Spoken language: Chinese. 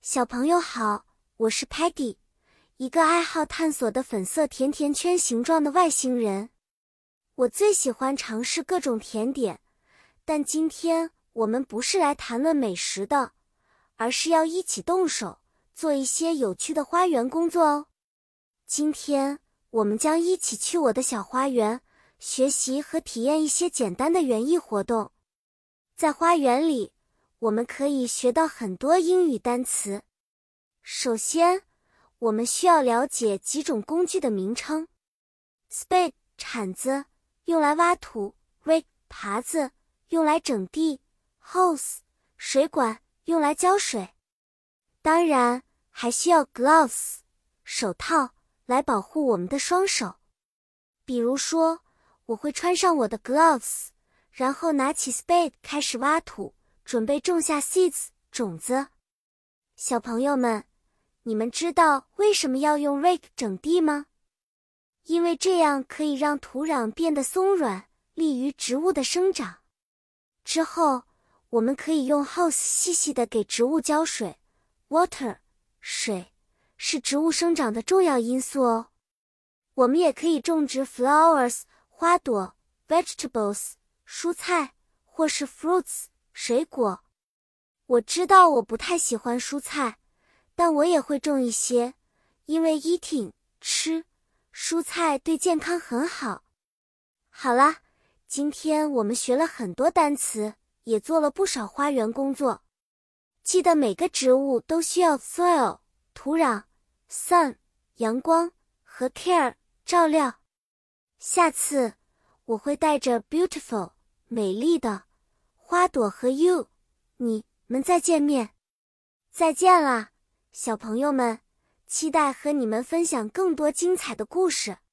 小朋友好，我是 Peggy， 一个爱好探索的粉色甜甜圈形状的外星人。我最喜欢尝试各种甜点，但今天我们不是来谈论美食的，而是要一起动手，做一些有趣的花园工作哦。今天我们将一起去我的小花园，学习和体验一些简单的园艺活动。在花园里，我们可以学到很多英语单词。首先，我们需要了解几种工具的名称。Spade 铲子，用来挖土； Rake 耙子，用来整地； Hose 水管，用来浇水。当然，还需要 Gloves 手套来保护我们的双手。比如说，我会穿上我的 Gloves， 然后拿起 Spade 开始挖土，准备种下 seeds 种子。小朋友们，你们知道为什么要用 Rake 整地吗？因为这样可以让土壤变得松软，利于植物的生长。之后，我们可以用 Hose 细细地给植物浇水。Water 水是植物生长的重要因素哦。我们也可以种植 flowers 花朵， vegetables 蔬菜，或是 fruits 水果。我知道我不太喜欢蔬菜，但我也会种一些，因为 eating 吃蔬菜对健康很好。好啦，今天我们学了很多单词，也做了不少花园工作。记得每个植物都需要 soil 土壤， sun 阳光和 care 照料。下次我会带着 beautiful 美丽的花朵和 you 你们再见面。再见啦，小朋友们，期待和你们分享更多精彩的故事。